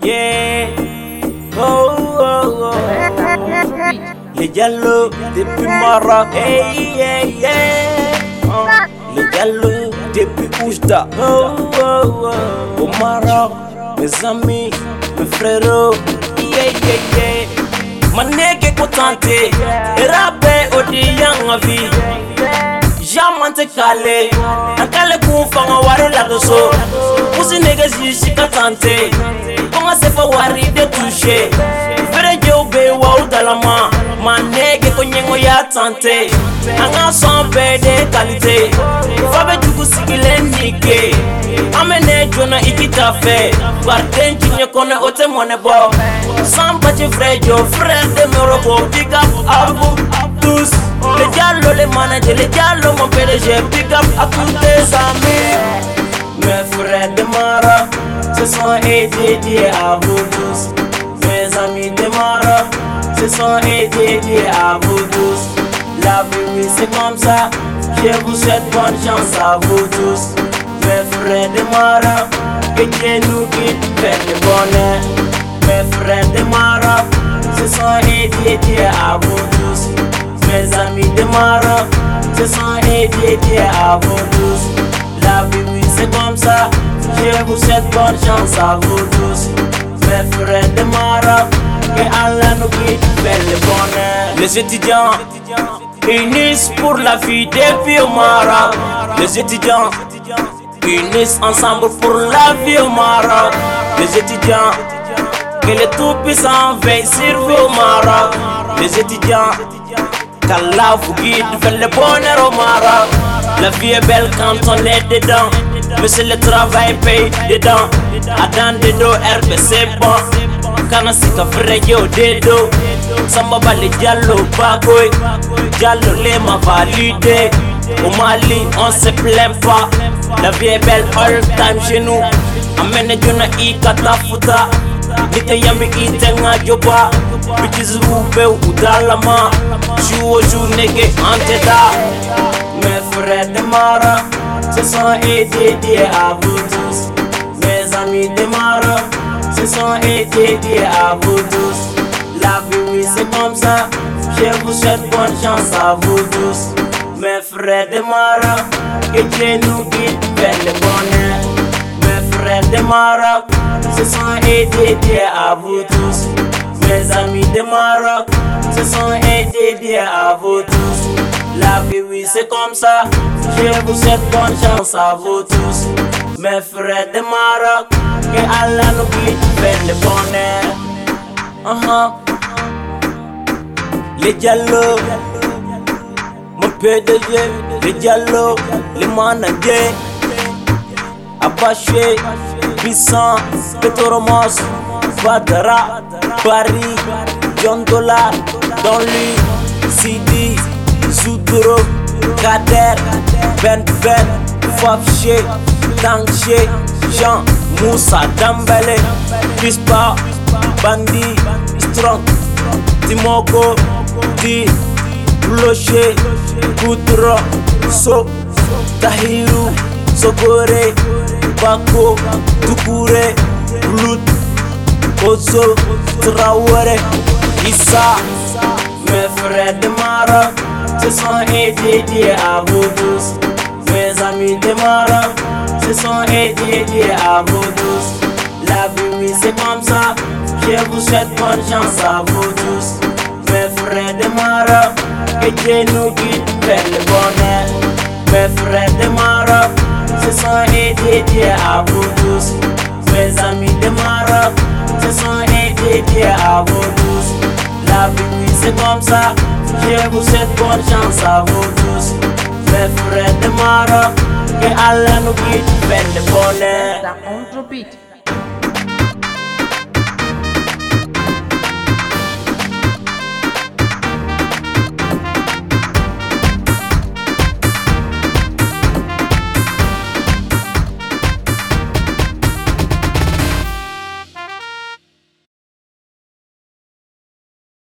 Yeah. Oh, oh, oh. Les dialogues depuis Maroc. Hey, yeah, yeah. Les dialogues depuis Oujda. Oh, oh, oh. Au Maroc, mes amis, mes frères. Yeah, yeah, yeah. Maneke kontante. Erabe odi yang vie. Jamante kale. Ankale kufanga wari la doso. Pusi niggas yishika tante. Konga sefa wari de touche. Fere jobe wa udalama. Maneke konyengo ya tante. Anga sombe de qualité. Fabe tuku sigile nike. Amene jona ikita fe. Warden jinye kone ote mwane bo. Samba je frejo, frère de Morocco. Pick up abu tous. Les diallo, les managers, les diallo, mon PDG. Pick up à tous tes amis. Mes frères de Maroc se sont dédiés à vous tous. Mes amis de Maroc se sont dédiés à vous tous. La vie, oui, c'est comme ça. Je vous souhaite bonne chance à vous tous. Mes frères de Maroc, que Dieu nous guide vers le bonheur. Mes frères de Maroc se sont dédiés à vous tous. Mes amis de Maroc se sont dédiés à vous tous. La vie, oui, c'est comme ça. Je vous souhaite bonne chance à vous tous. Mes frères de Maroc, que Allah nous guide vers le bonheur. Les étudiants unissent pour la vie depuis au Maroc. Les étudiants unissent ensemble pour la vie au Maroc. Les étudiants, que le Tout-Puissant veille sur vous au Maroc. Les étudiants, qu'Allah vous guide vers le bonheur au Maroc. La vie est belle quand on est dedans, mais c'est le travail paye dedans. Adam dedo RBC bon, kana sika freyo dedo. Samba bali diallo bagoy, diallo les m'a validé. Au Mali on se plaint pas, la vie est belle all time chez nous. Amene jona ikata futa, nite yami itenga joba. Bitches ube udalama, jour au jour nege anteda. Mes frères de Maroc se sont dédiés à vous tous. Mes amis de Maroc se sont dédiés à vous tous. La vie, oui, c'est comme ça. Je vous souhaite bonne chance à vous tous. Mes frères de Maroc, que Dieu nous guide vers le bonheur. Mes frères de Maroc se sont dédiés à vous tous. Mes amis de Maroc se sont dédiés à vous tous. La vie, oui, c'est comme ça. Je vous souhaite bonne chance à vous tous. Mes frères de Maroc, que Allah nous guide vers le bonheur. Les dialogues, mon PDG, les dialogues, les managers. Apache, Puissant, Petoromos, Badara, Paris, John Dollar, Don Lee, Sidi, Zoudoro, Kader, Ben, Fafche, Tangche, Jean, Moussa, Dambele, Pispa, Bandi, Strong, Timoko, Di, Bloche, Goudro, So, Tahiru, Sogore, Bako, Tukure, Blut, Ozo, Traoré, Issa. Mes frères de Maroc se sont dédiés à vous tous. Mes amis de Maroc se sont dédiés à vous tous. La vie, oui, c'est comme ça. Je vous souhaite bonne chance à vous tous. Mes frères de Maroc, que Dieu nous guide vers le bonheur. Mes frères de Maroc se sont dédiés à vous tous. Mes amis de Maroc se sont dédiés à vous tous. La vie, oui, c'est comme ça. Je vous souhaite bonne chance à vous tous. Mes frères de Maroc, que Allah nous guide vers le bonheur.